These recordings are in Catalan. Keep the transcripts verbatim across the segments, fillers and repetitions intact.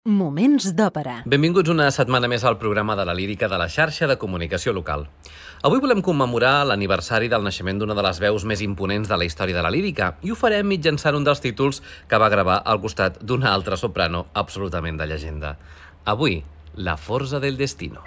Moments d'òpera. Benvinguts una setmana més al programa de la lírica de la xarxa de comunicació local. Avui volem commemorar l'aniversari del naixement d'una de les veus més imponents de la història de la lírica i ho farem mitjançant un dels títols que va gravar al costat d'una altra soprano absolutament de llegenda. Avui, La forza del destino.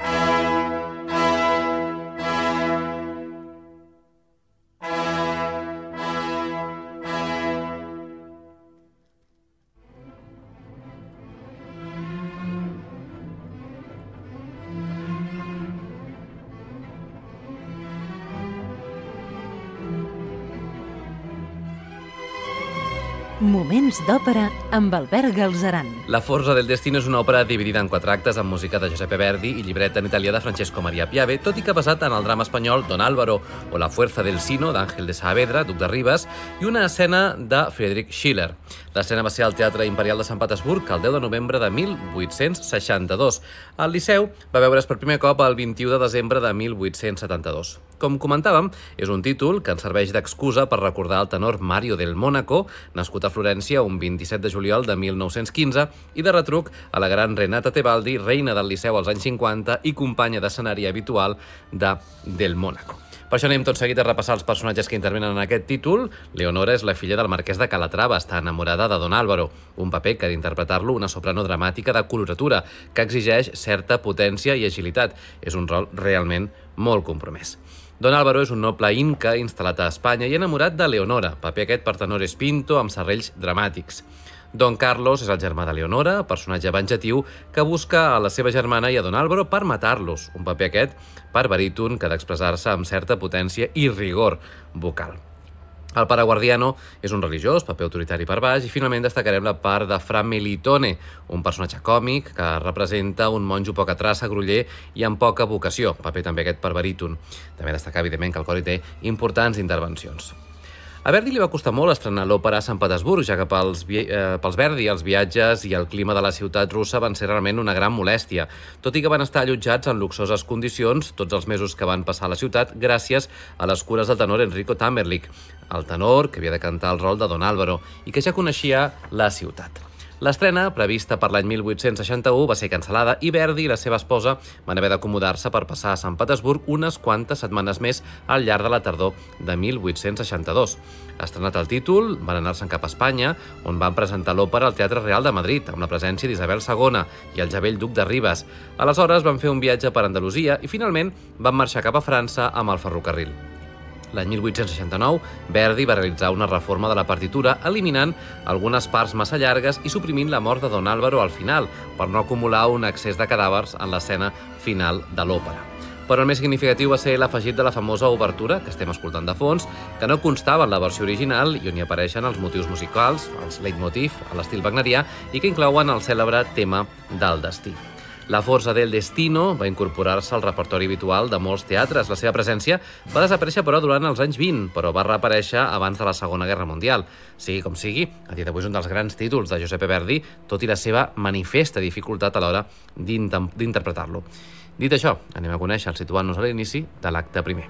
Moments d'òpera amb Albert Galzeran. La forza del destino és una òpera dividida en quatre actes amb música de Giuseppe Verdi i llibret en italià de Francesco Maria Piave, tot i que basat en el drama espanyol Don Álvaro o La fuerza del sino d'Àngel de Saavedra, duc de Rivas, i una escena de Friedrich Schiller. L'escena va ser al Teatre Imperial de Sant Petersburg el deu de novembre de mil vuit-cents seixanta-dos. El Liceu va veure's per primer cop el vint-i-u de desembre de mil vuit-cents setanta-dos. Com comentàvem, és un títol que ens serveix d'excusa per recordar el tenor Mario del Mónaco, nascut a Florència un vint-i-set de juliol de mil nou-cents quinze, i de retruc a la gran Renata Tebaldi, reina del Liceu als anys cinquanta i companya d'escenari habitual de Del Mónaco. Per això anem tot seguit a repassar els personatges que intervenen en aquest títol. Leonora és la filla del marquès de Calatrava, està enamorada de Don Álvaro, un paper que ha d'interpretar-lo una soprano dramàtica de coloratura, que exigeix certa potència i agilitat. És un rol realment molt compromès. Don Álvaro és un noble inca instal·lat a Espanya i enamorat de Leonora, paper aquest per tenores pinto amb serrells dramàtics. Don Carlos és el germà de Leonora, personatge venjatiu que busca a la seva germana i a Don Álvaro per matar-los, un paper aquest per baríton que ha d'expressar-se amb certa potència i rigor vocal. El pare Guardiano és un religiós, paper autoritari per baix, i finalment destacarem la part de Fra Melitone, un personatge còmic que representa un monjo poca traça, groller i amb poca vocació, paper també aquest per baríton. També destacar, evidentment, que el cor hi té importants intervencions. A Verdi li va costar molt estrenar l'òpera a Sant Petersburg, ja que pels, eh, pels Verdi els viatges i el clima de la ciutat russa van ser realment una gran molèstia, tot i que van estar allotjats en luxoses condicions tots els mesos que van passar a la ciutat gràcies a les cures del tenor Enrico Tamerlich, el tenor que havia de cantar el rol de Don Álvaro i que ja coneixia la ciutat. L'estrena, prevista per l'any mil vuit-cents seixanta-u, va ser cancel·lada i Verdi i la seva esposa van haver d'acomodar-se per passar a Sant Petersburg unes quantes setmanes més al llarg de la tardor de mil vuit-cents seixanta-dos. Estrenat el títol, van anar-se'n cap a Espanya, on van presentar l'òpera al Teatre Real de Madrid, amb la presència d'Isabel segona i el ja vell duc de Rivas. Aleshores van fer un viatge per Andalusia i finalment van marxar cap a França amb el ferrocarril. L'any mil vuit-cents seixanta-nou, Verdi va realitzar una reforma de la partitura, eliminant algunes parts massa llargues i suprimint la mort de Don Álvaro al final, per no acumular un excés de cadàvers en l'escena final de l'òpera. Però el més significatiu va ser l'afegit de la famosa obertura, que estem escoltant de fons, que no constava en la versió original i on hi apareixen els motius musicals, els leitmotiv a l'estil wagnerià, i que inclouen el cèlebre tema del destí. La forza del destino va incorporar-se al repertori habitual de molts teatres. La seva presència va desaparèixer, però, durant els anys vint, però va reaparèixer abans de la Segona Guerra Mundial. Sigui com sigui, a dia d'avui és un dels grans títols de Giuseppe Verdi, tot i la seva manifesta dificultat a l'hora d'interpretar-lo. Dit això, anem a conèixer, situant-nos a l'inici de l'acte primer.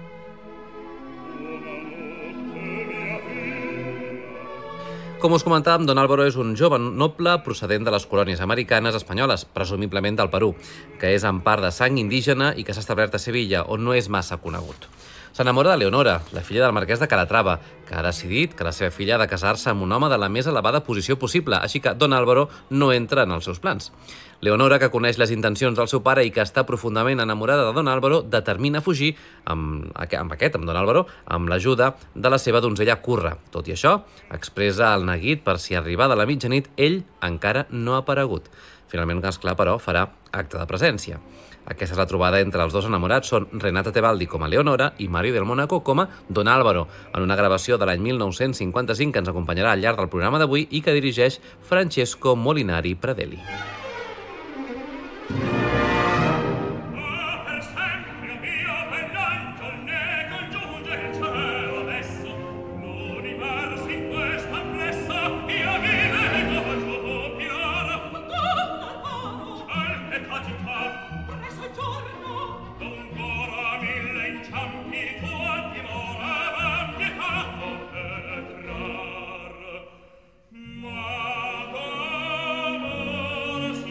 Com us comentàvem, Don Álvaro és un jove noble procedent de les colònies americanes espanyoles, presumiblement del Perú, que és en part de sang indígena i que s'ha establert a Sevilla, on no és massa conegut. S'enamora de Leonora, la filla del marquès de Calatrava, que ha decidit que la seva filla ha de casar-se amb un home de la més elevada posició possible, així que Don Álvaro no entra en els seus plans. Leonora, que coneix les intencions del seu pare i que està profundament enamorada de Don Álvaro, determina fugir amb, amb aquest, amb Don Álvaro, amb l'ajuda de la seva donzella Curra. Tot i això, expressa el neguit per si arribada la mitjanit ell encara no ha aparegut. Finalment, esclar, però, farà acte de presència. Aquesta és la trobada entre els dos enamorats, són Renata Tebaldi com a Leonora i Mario del Mónaco com a Don Álvaro, en una gravació de l'any mil nou-cents cinquanta-cinc que ens acompanyarà al llarg del programa d'avui i que dirigeix Francesco Molinari Pradelli. Ma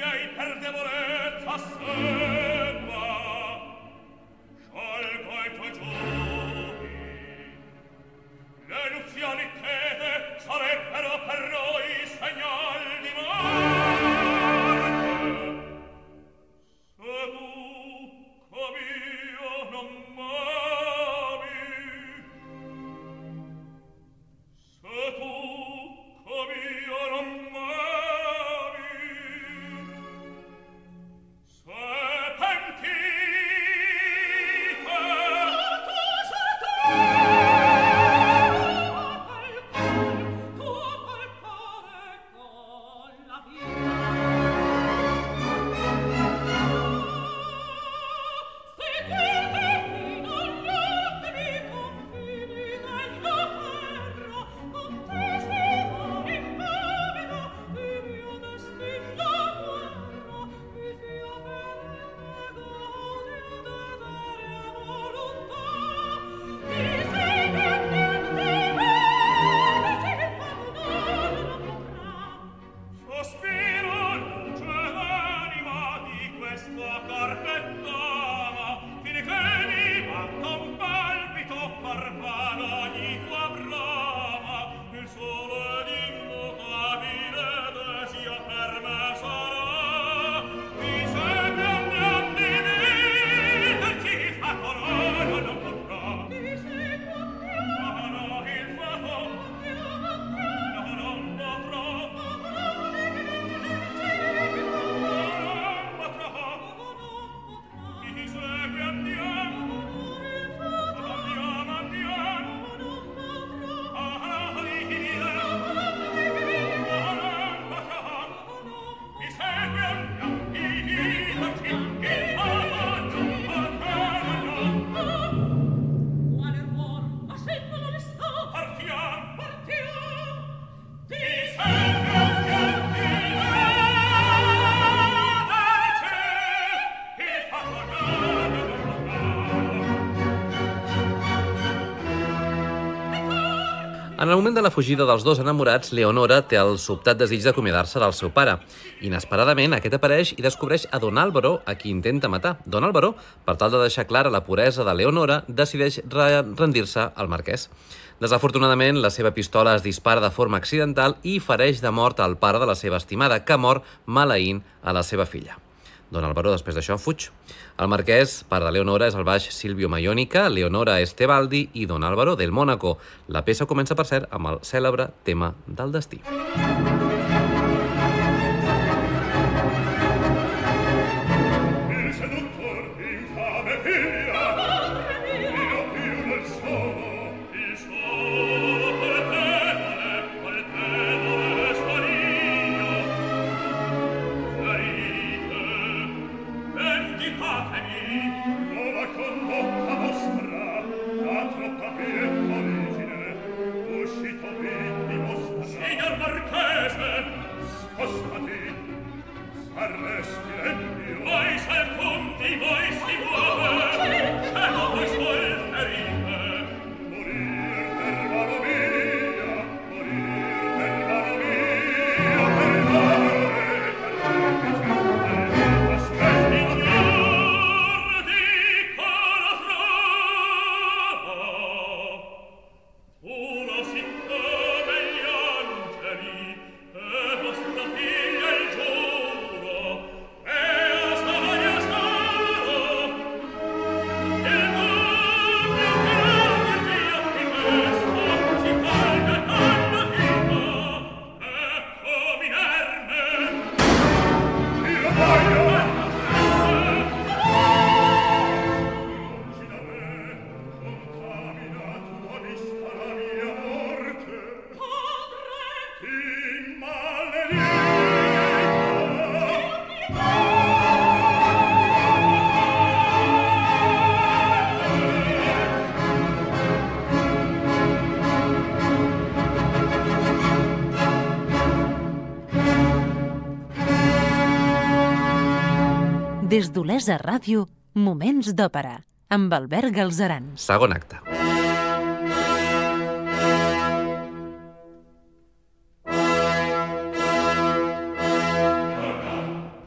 En el moment de la fugida dels dos enamorats, Leonora té el sobtat desig d'acomiadar-se del seu pare. Inesperadament, aquest apareix i descobreix a Don Álvaro, a qui intenta matar. Don Álvaro, per tal de deixar clara la puresa de Leonora, decideix rendir-se al marquès. Desafortunadament, la seva pistola es dispara de forma accidental i fereix de mort al pare de la seva estimada, que mor maleint a la seva filla. Don Álvaro, després d'això, fuig. El marquès, pare de Leonora, és el baix Silvio Maionica, Leonora Estebaldi i Don Álvaro del Mónaco. La peça comença, per cert, amb el cèlebre tema del destí. Des d'Olesa Ràdio, Moments d'Òpera, amb Albert Galzeran. Segon acte.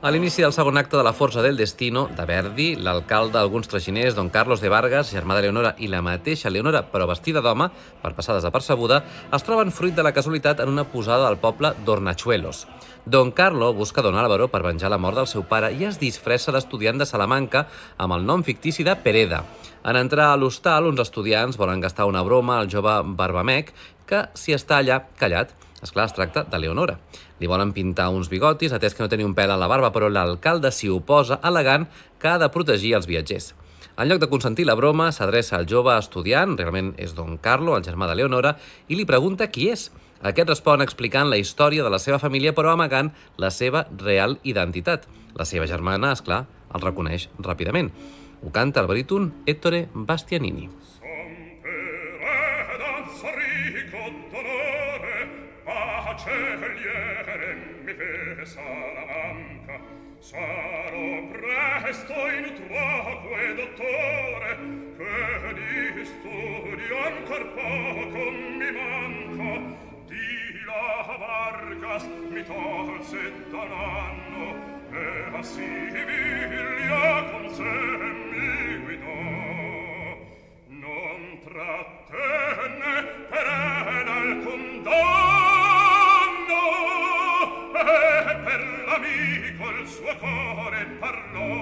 A l'inici del segon acte de La Forza del Destino, de Verdi, l'alcalde, alguns traginers, don Carlos de Vargas, germà de Leonora, i la mateixa Leonora, però vestida d'home, per passar desapercebuda, es troben fruit de la casualitat en una posada del poble d'Hornachuelos. Don Carlo busca don Álvaro per venjar la mort del seu pare i es disfressa d'estudiant de Salamanca amb el nom fictici de Pereda. En entrar a l'hostal, uns estudiants volen gastar una broma al jove Barbamec, que s'hi està allà callat. Esclar, es tracta de Leonora. Li volen pintar uns bigotis, atès que no té ni un pèl a la barba, però l'alcalde s'hi oposa, al·legant que ha de protegir els viatgers. En lloc de consentir la broma, s'adreça al jove estudiant, realment és don Carlo, el germà de Leonora, i li pregunta qui és. Aquest respon explicant la història de la seva família, però amagant la seva real identitat. La seva germana, esclar, el reconeix ràpidament. Ho canta el baríton Ettore Bastianini. Salamanca, sarò presto in utroque dottore, che di studio ancor poco mi manca. Di la Vargas mi tolse da un anno, e a Siviglia con sé mi guidò. Non trattenne per alcun danno, e per l'amico il suo cuore parlò.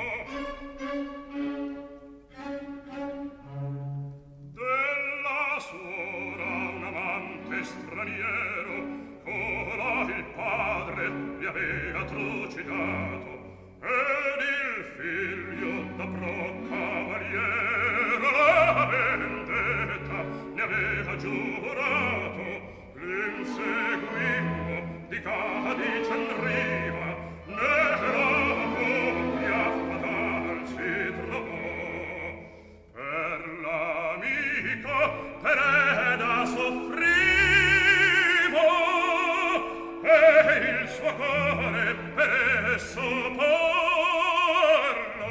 Della suora un amante straniero, colà il padre li aveva trucidato, ed il figlio da pro cavaliero la vendetta ne aveva giurato. L'inseguimmo di Cadice in riva, nella coppia fatal si trovò. Per l'amico Pereda soffrivo, e il suo cuore per esso parlò.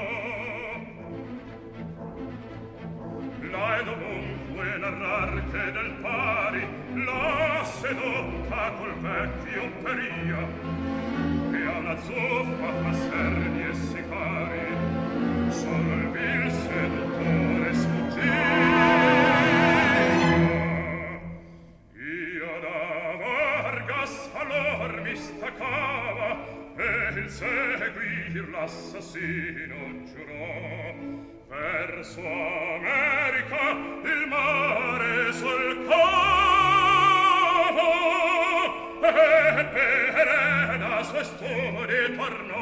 L'hai dovunque narrar che del pari la sedotta col vecchio Peria, che a una zuffa fa servi e sicari, solo il vil seduttore sfuggiva. Io da Vargas allor mi staccava, e il seguir l'assassino giurò. Verso America il mare solcava, e per la sua storia tornò.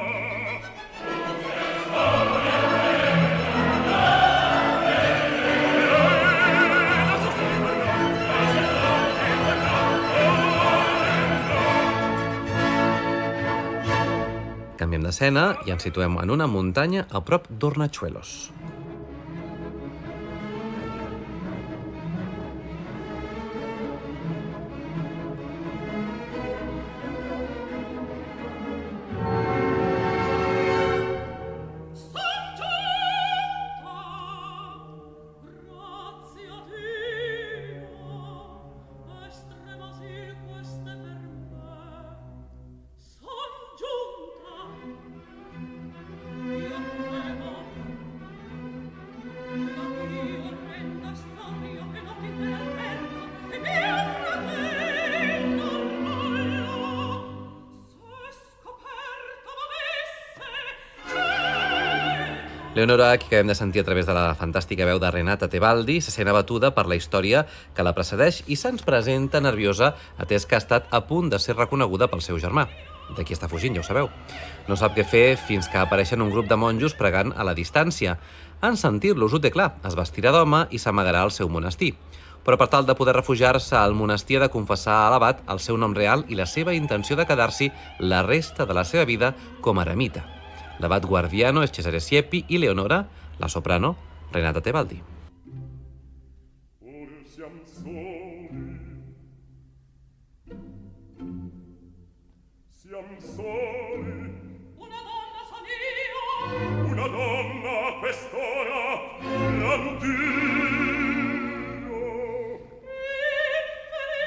Canviem d'escena i ens situem en una muntanya a prop d'Hornachuelos. Leonora, que acabem de sentir a través de la fantàstica veu de Renata Tebaldi, se sent abatuda per la història que la precedeix i se'ns presenta nerviosa, atès que ha estat a punt de ser reconeguda pel seu germà. D'aquí està fugint, ja ho sabeu. No sap què fer fins que apareixen un grup de monjos pregant a la distància. En sentir-los ho té clar, es vestirà d'home i s'amagarà al seu monestir. Però per tal de poder refugiar-se al monestir ha de confessar a l'abat el seu nom real i la seva intenció de quedar-s'hi la resta de la seva vida com a eremita. L'abat guardiano és Cesare Siepi i Leonora, la soprano, Renata Tebaldi. Siam soli, una donna son io, una donna a quest'ora, l'andio.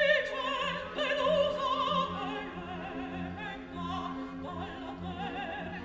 Infelice, delusa, venga dalla terra.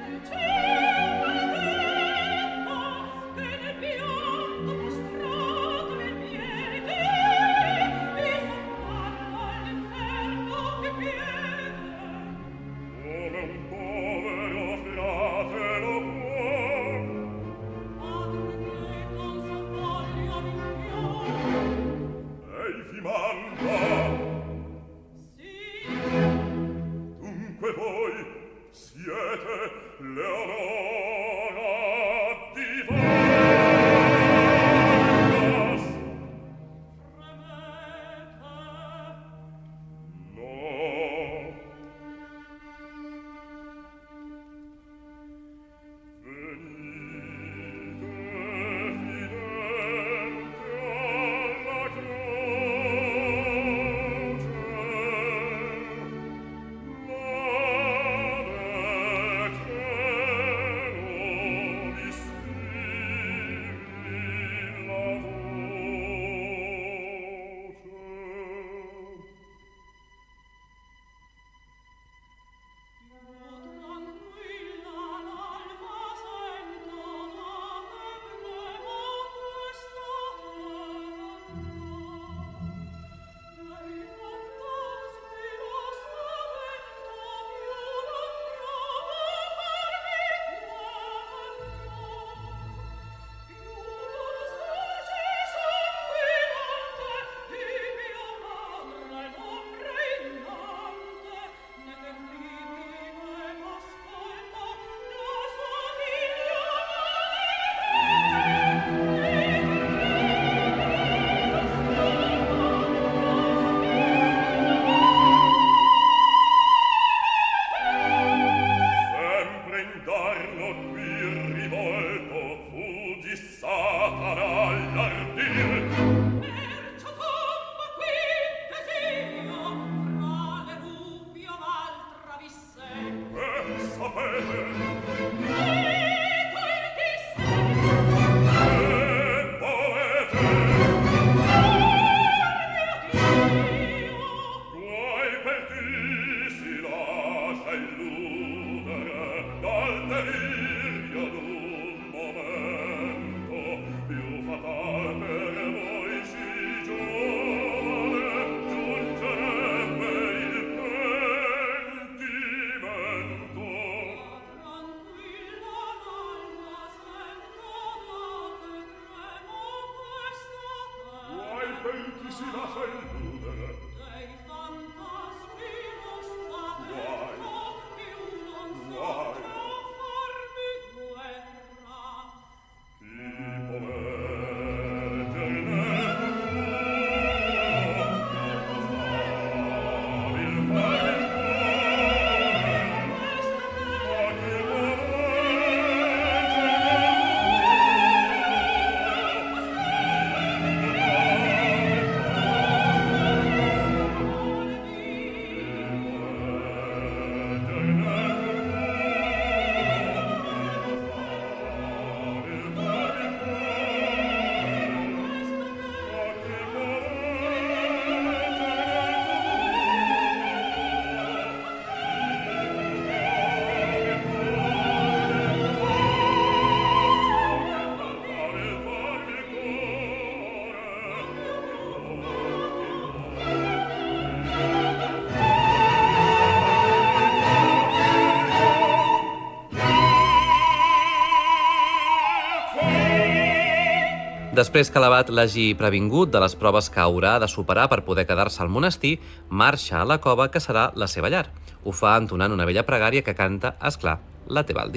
Després que l'abat l'hagi previngut de les proves que haurà de superar per poder quedar-se al monestir, marxa a la cova que serà la seva llar. Ho fa entonant una bella pregària que canta, és clar, la Tebaldi.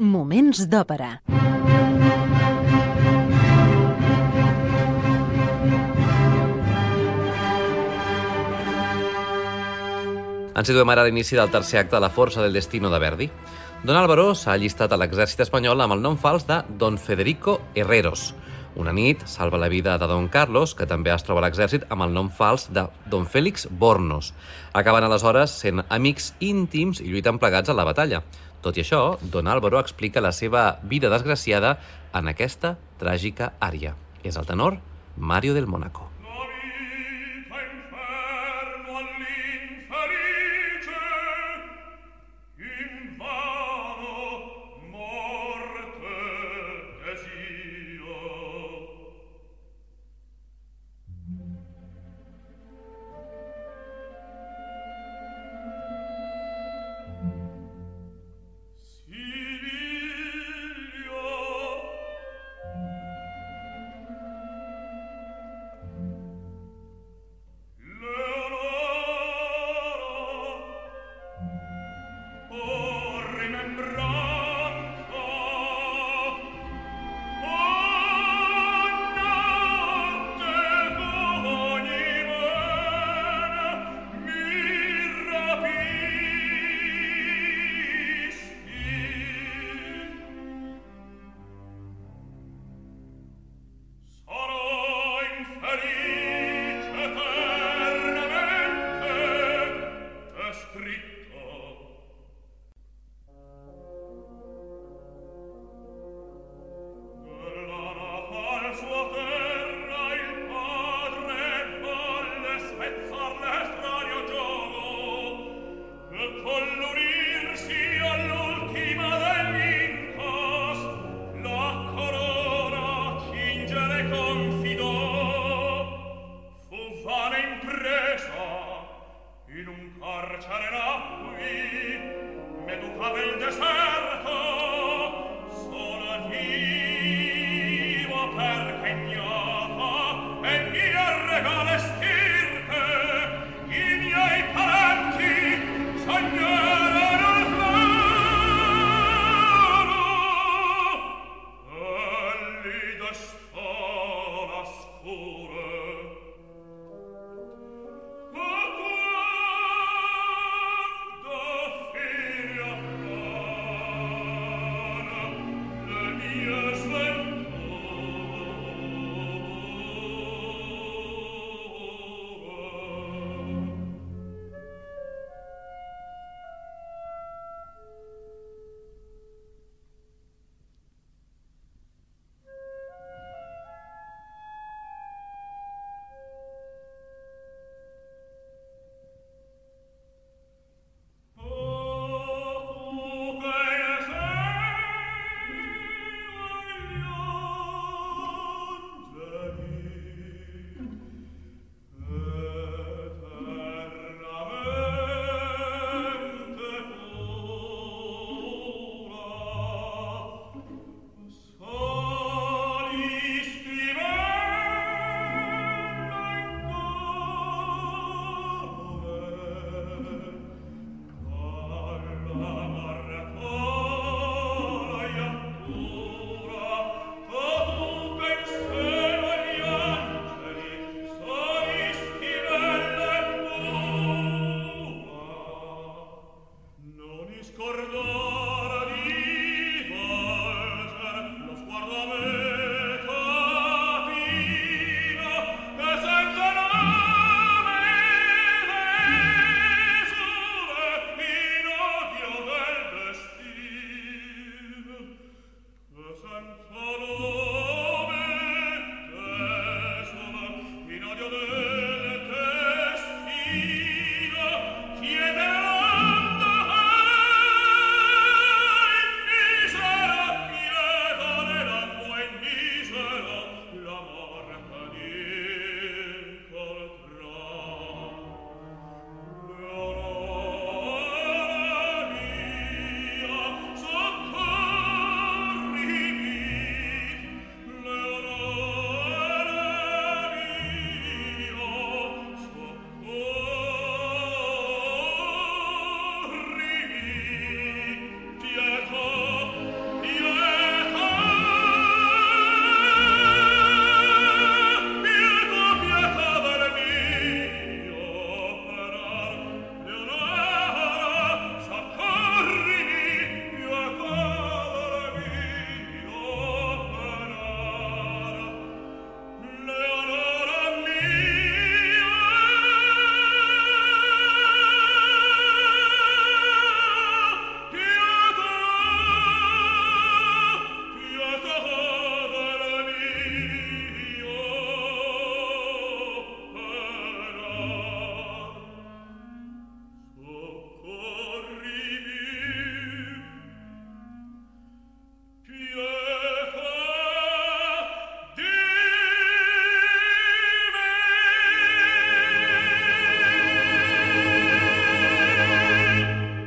Moments d'òpera. Ens situem ara a l'inici del tercer acte de La força del destino de Verdi. Don Álvaro s'ha allistat a l'exèrcit espanyol amb el nom fals de Don Federico Herreros. Una nit salva la vida de Don Carlos, que també es troba a l'exèrcit, amb el nom fals de Don Félix Bornos. Acaben aleshores sent amics íntims i lluiten plegats a la batalla. Tot i això, Don Álvaro explica la seva vida desgraciada en aquesta tràgica ària. És el tenor Mario del Mónaco.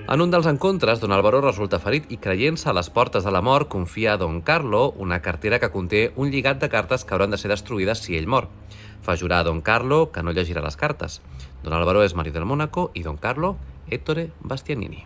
En un dels encontres, don Álvaro resulta ferit i, creient-se a les portes de la mort, confia a don Carlo una cartera que conté un lligat de cartes que hauran de ser destruïdes si ell mor. Fa jurar a don Carlo que no llegirà les cartes. Don Álvaro és marit del Mónaco i don Carlo, Ettore Bastianini.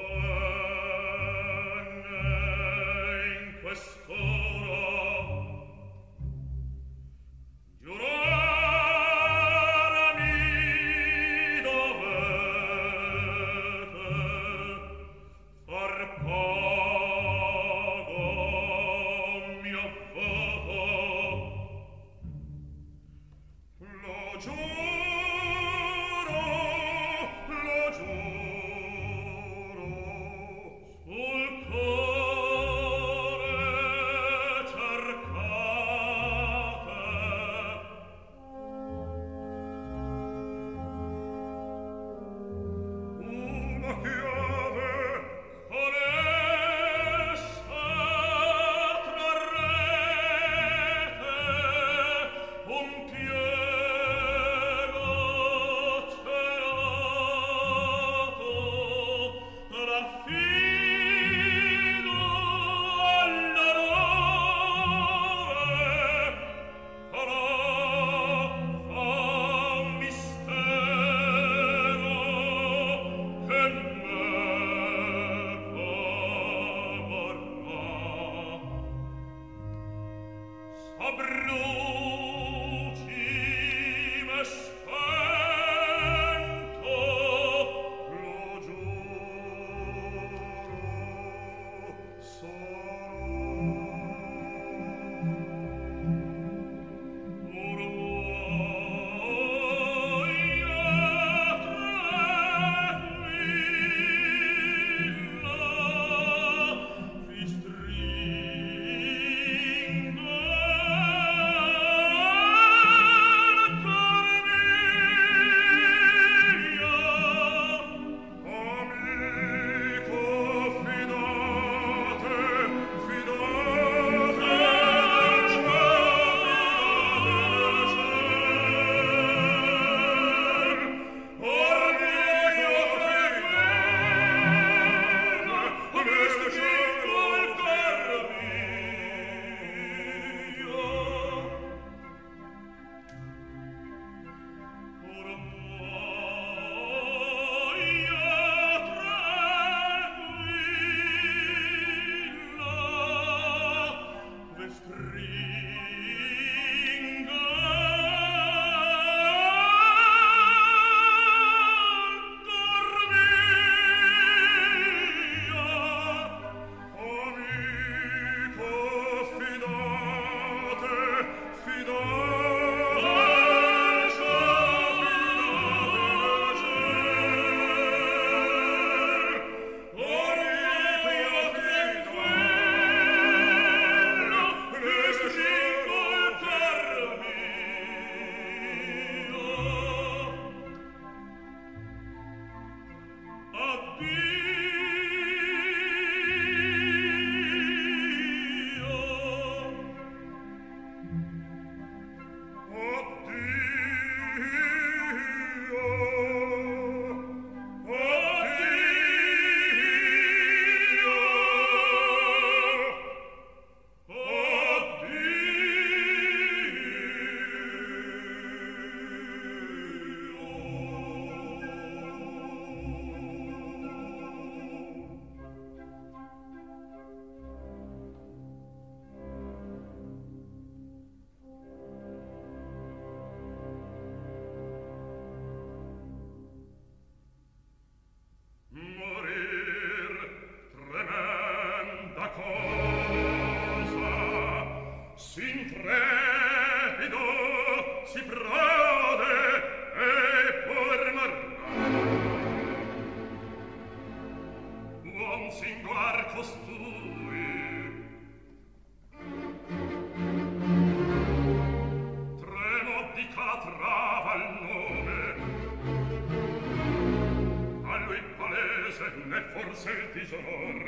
forse il disonor.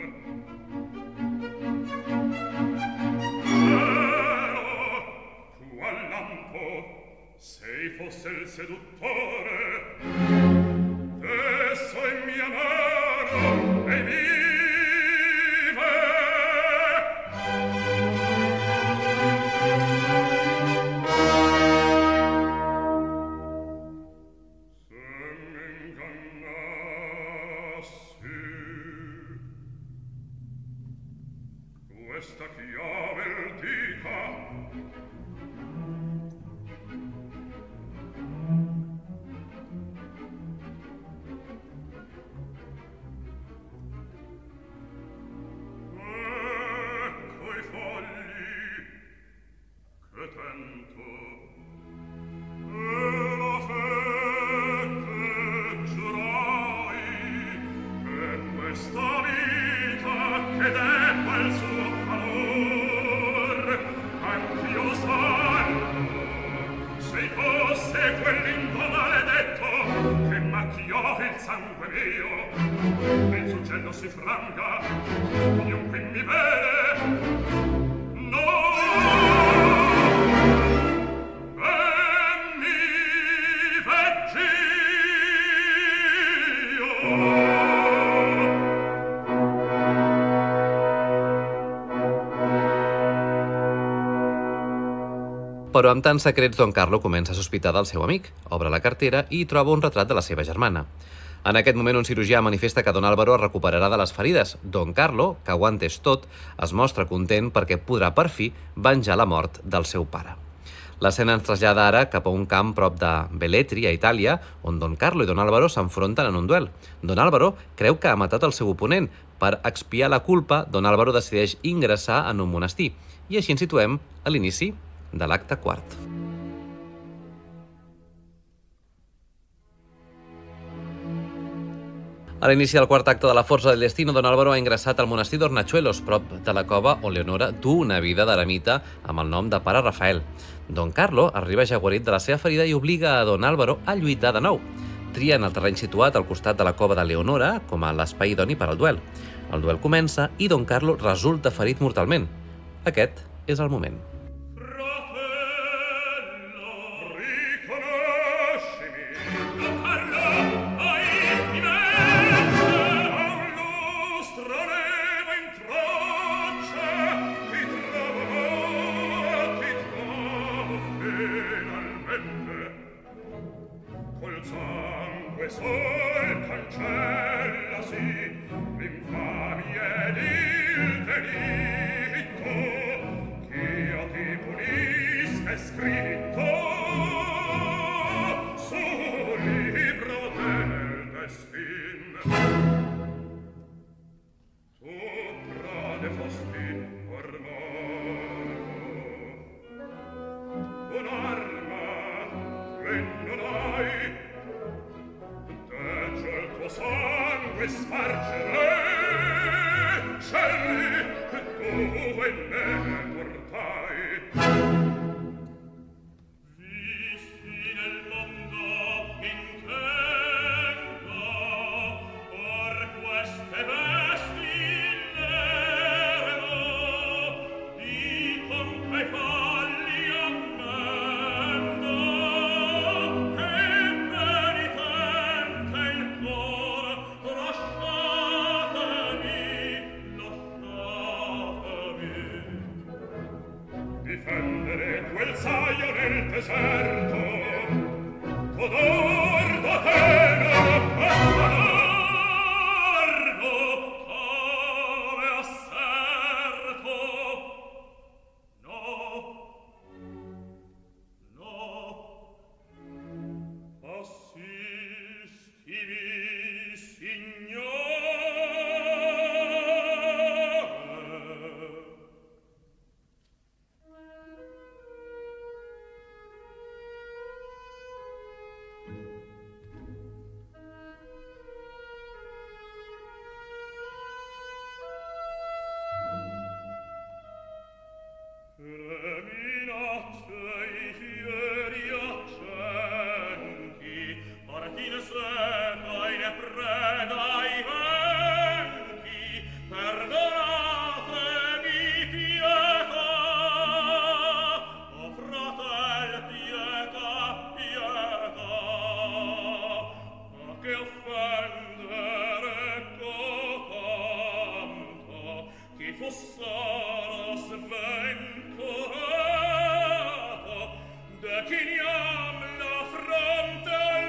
Però tu al lampo sei fosse il seduttore, esso è mia mano Questa chiave il dica. Ecco i fogli che tento e la fette giurai che questa vita che debba il suo anch'io salvo, se fosse quell'into maledetto che macchiò il sangue mio, e il suggello si franga, chiunque mi vede, no, e mi vegg'io. Però amb tants secrets, Don Carlo comença a sospitar del seu amic, obre la cartera i troba un retrat de la seva germana. En aquest moment, un cirurgià manifesta que Don Álvaro es recuperarà de les ferides. Don Carlo, que ho ha entès tot, es mostra content perquè podrà per fi venjar la mort del seu pare. L'escena ens trasllada ara cap a un camp prop de Velletri, a Itàlia, on Don Carlo i Don Álvaro s'enfronten en un duel. Don Álvaro creu que ha matat el seu oponent. Per expiar la culpa, Don Álvaro decideix ingressar en un monestir. I així ens situem a l'inici de l'acte quart. A l'inici del quart acte de la Forza del Destino, Don Álvaro ha ingressat al monestir d'Ornachuelos, prop de la cova on Leonora du una vida d'eremita amb el nom de Pare Rafael. Don Carlo arriba ja guarit de la seva ferida i obliga a Don Álvaro a lluitar de nou. Trien el terreny situat al costat de la cova de Leonora com a l'espai idoni per al duel. El duel comença i Don Carlo resulta ferit mortalment. Aquest és el moment. Sol cancellasi l'infamia ed il delitto ch'io ti punisca è scritto sul libro del destin. Tu prode fosti ormai un'arma che non hai, sangue spargere, scegli dove me portai. Visti nel mondo intento, or queste vesti l'erano, dicon che falli ammendo, che penitente il cuore. Difendere quel saio nel deserto, codor d'Atena, largo come asserto. No, no, assistimi, signore. chiniam la fronte al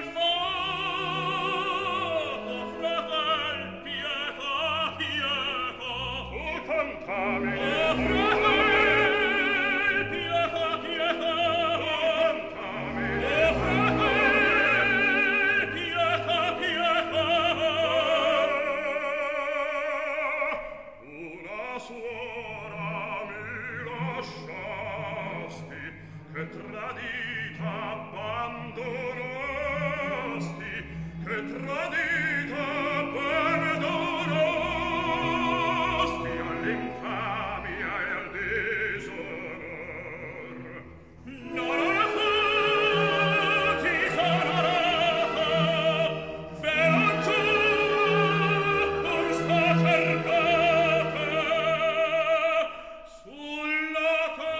fuoco, fratel, pietà, pietà. Tu cantami, oh, fratel, pietà, pietà. Tu cantami, oh, fratel, pietà, pietà. Una suora mi lasciasti, che tradita abbandonasti, che tradita abbandonasti all'infamia e al disonor. Non ho fatti sonorata, velo giù un sacerdate sulla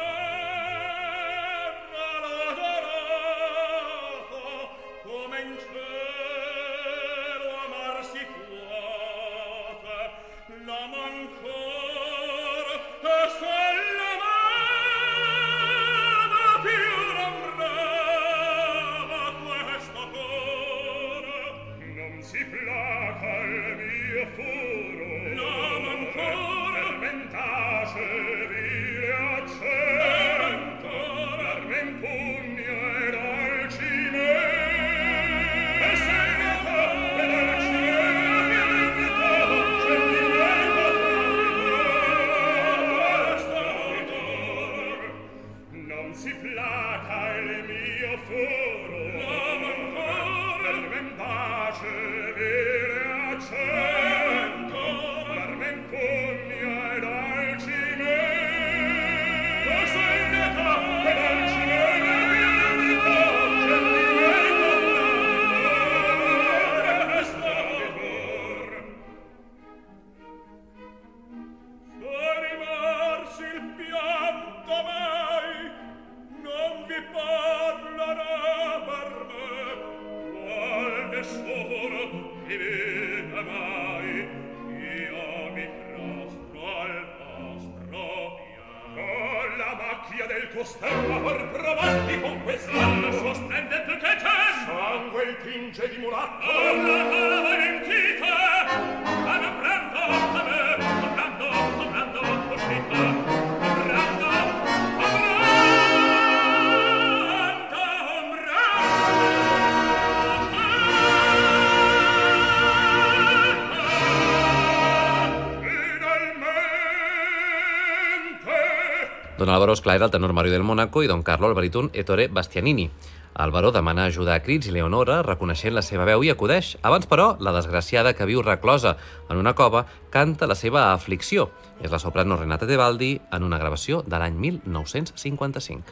terra logorata, come in cielo amar si puote, l'amo ancor e se l'amava più non brama questo cor. Non si placa il mio furo, l'amo ancor fermentace vile accento, l'arme impugna ed alcime e segnata ed alcime non si placa il mio furo, l'amo ancor fermentace vile accento, l'arme impugna ed alcime e segnata ed alcime Rimarsi il pianto mai, non vi parlerà per me, qual nessuno vi vede mai, io mi prostro al vostro piano. Con la macchia del tuo stemma per provarti con quest'anno sosplendente che c'è, sangue il tinge di mulatto, alla alla valentita, a me prendo, a me, comprando, comprando, uscita, comprando, Don Álvaro, esclar, era el tenor Mario del Mónaco i Don Carlo, el baríton Ettore Bastianini. Álvaro demana ajuda a crits i Leonora, reconeixent la seva veu, i acudeix. Abans, però, la desgraciada que viu reclosa en una cova canta la seva aflicció. És la soprano Renata Tebaldi en una gravació de l'any mil nou-cents cinquanta-cinc.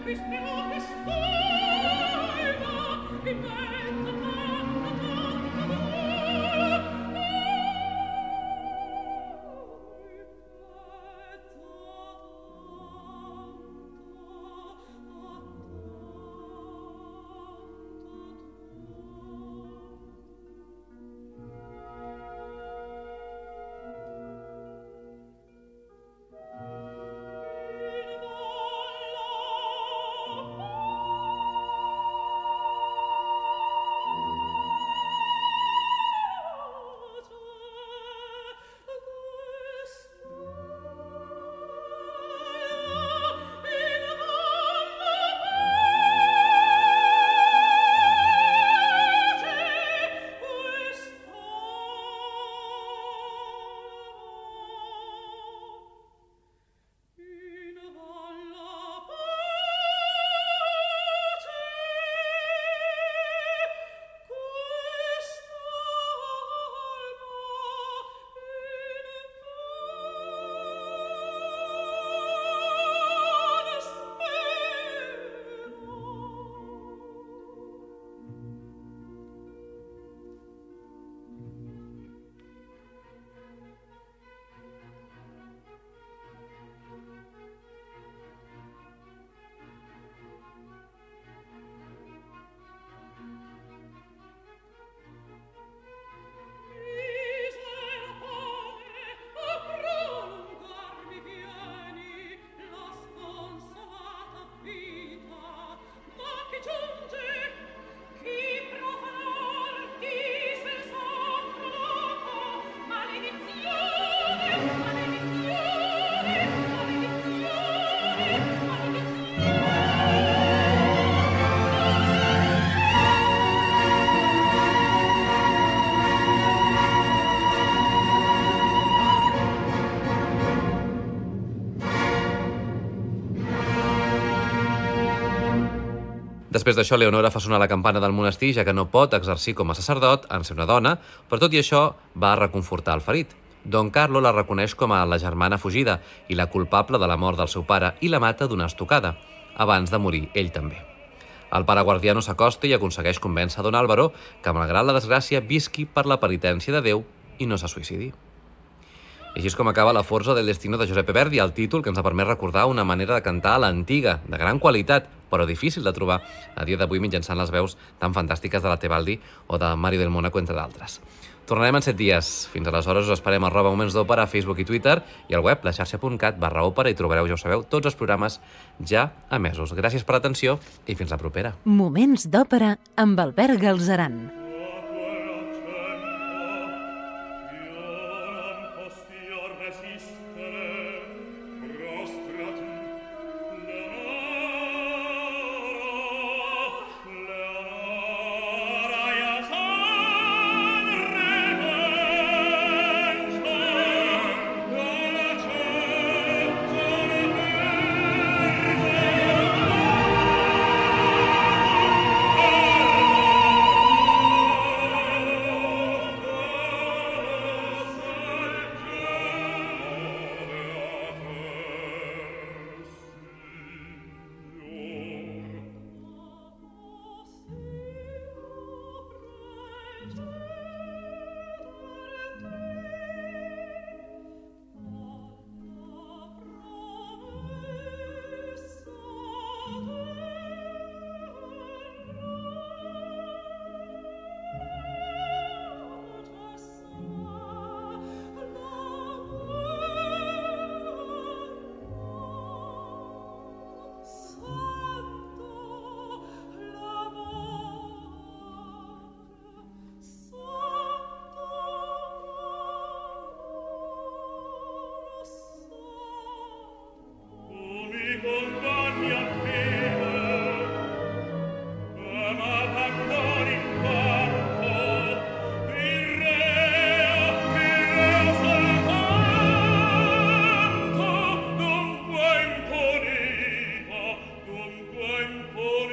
Després d'això, Leonora fa sonar la campana del monestir, ja que no pot exercir com a sacerdot en ser una dona, però tot i això va a reconfortar el ferit. Don Carlo la reconeix com a la germana fugida i la culpable de la mort del seu pare i la mata d'una estocada, abans de morir ell també. El pare Guardiano s'acosta i aconsegueix convèncer Don Álvaro que, malgrat la desgràcia, visqui per la penitència de Déu i no se suïcidi. I així és com acaba La Forza del Destino de Giuseppe Verdi, el títol que ens ha permès recordar una manera de cantar a l'antiga, de gran qualitat, però difícil de trobar a dia d'avui mitjançant les veus tan fantàstiques de la Tebaldi o de Mario del Mónaco, entre d'altres. Tornarem en set dies. Fins aleshores us esperem a arroba Moments d'Òpera a Facebook i Twitter i al web laxarxa.cat barra òpera i trobareu, ja ho sabeu, tots els programes ja emesos. Gràcies per l'atenció i fins la propera. Moments d'Òpera amb Albert Galzeran. Oh